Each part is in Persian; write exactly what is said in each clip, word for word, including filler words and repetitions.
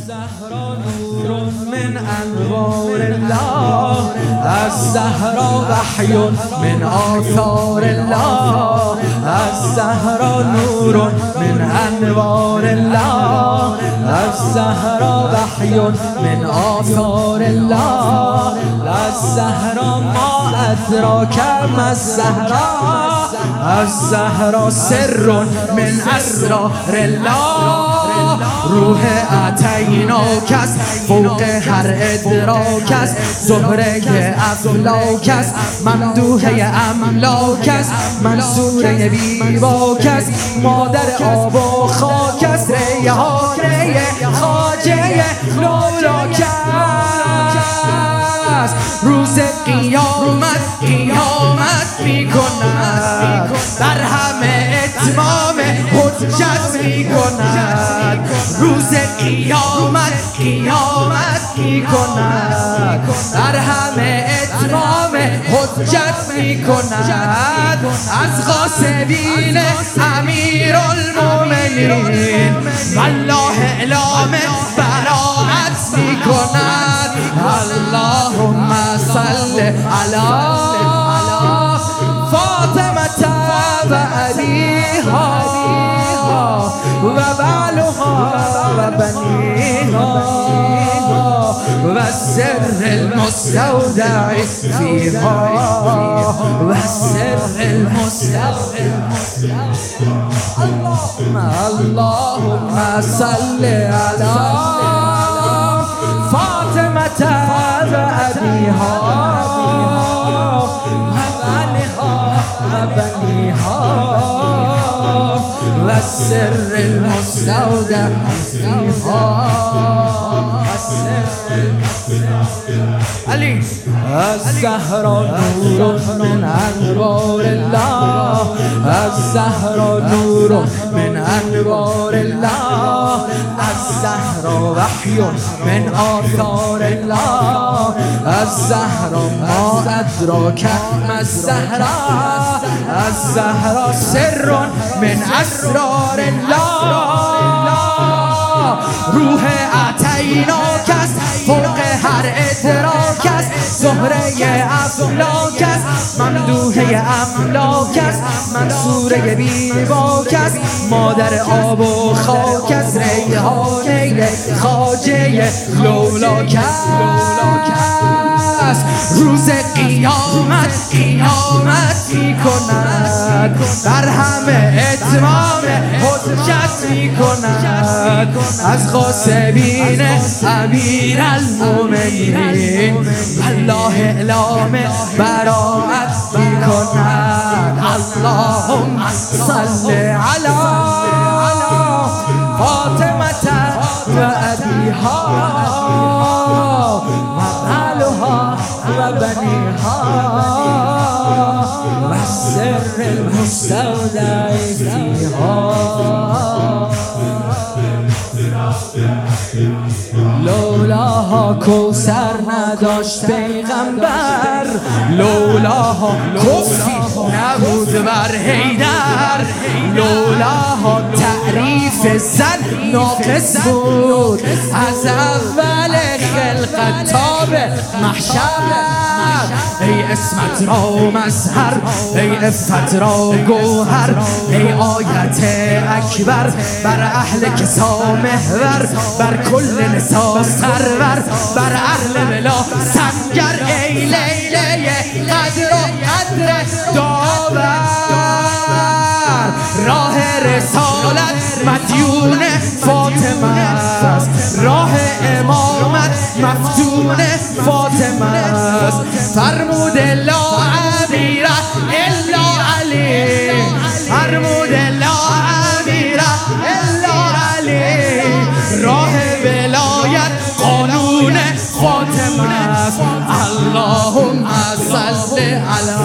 الزهرا نور من انوار الله، الزهرا وحی من آثار الله، الزهرا نور من انوار الله، الزهرا وحی من آثار الله، الزهرا ما ادراک ما الزهرا، الزهرا سر من اسرار الله، روح اعطیناک است فوق هر ادراک است، زهره افلاک است ممدوحه املاک است، منصوره بیباک است مادر آب و خاک است، ریحانه خواجه لولاک است، روز قیامت قیامت می کند، در همه اتمام حجت می کند، روز قیامت قیامت می کند، در همه اتمام حجت می کند، از غاصبین امیرالمومنین والله اعلام براءت می کند. اللهم صل علی فاطمة و ابیها و بعلها و بنیها و السر المستودع فیها و السر المستودع. اللهم صل علی فاطمة و ابیها و بعلها و بنیها و السر المستودع فیها. علی الزهرا نور من انوار الله، الزهرا نور من انوار الله، الزهرا وحی من آثار الله، الزهرا ما ادراک ما الزهرا، الزهرا سر من اسرار الله، روح اعطیناک است فوق هر ادراک است، زهره افلاک است ممدوحه املاک است، منصوره بیباک است مادر آب و خاک است، ریحانه خواجه لولاک است، روز قیامت قیامت می کند، در همه اتمام حجت می کند، از غاصبین امیرالمومنین والله اعلام براءت می کند. اللهم صل علی فاطمة و ابیها و بعلها و بنیها و السر المستودع فیها. لولاها کوثر نداشت پیغمبر، لولاها کفی نبود بر حیدر، لولاها تعریف زن ناقص بود از اول خلقت تا به محشر، ای اسمت را مظهر، ای عفت را گوهر، ای آیت اکبر بر اهل کسا محور، بر کل نسا سرور، بر اهل ولا سنگر، ای لیله قدر و قدر داور، راه رسالت مدیون فاطمه است، راه امامت مفتون فاطمه است، فرمود لا امیر الا علی، فرمود لا امیر الا علی، راه ولایت قانون فاطمه است. اللهم صل علی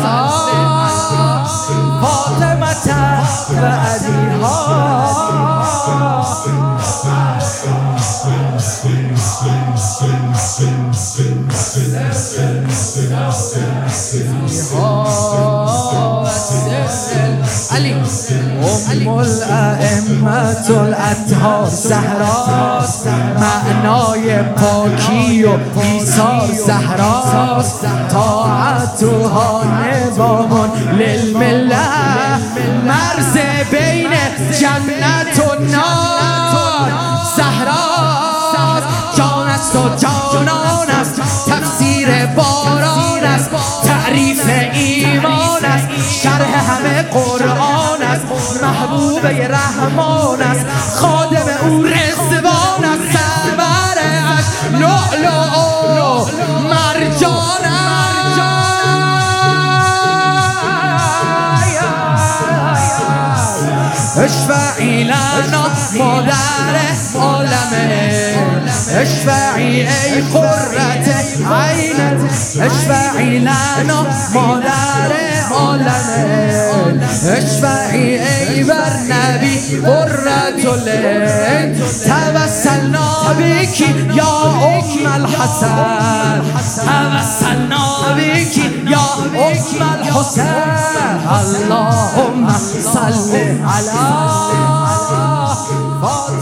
فاطمة و ابیها علي أم الأئمة الأطهار زهرا معنای پاکی و ایثار زهرا طاعتها نظام للملة مرز بین جنت و نار زهرا جان است و جانان است تفسیر باران است تعریف ایمان است شرح همه قرآن است محبوب رحمان است خادم او رضوان است سرورش لؤلؤ و مرجان است اشفعی لنا مادر عالمه اشفعی ای قرة عینت اشفعی لنا مادر عالمه اشفعی ای بر نبی قرة العین توسلنا بکی یا ام الحسن توسلنا بکی یا ام الحسن اللهم صل علی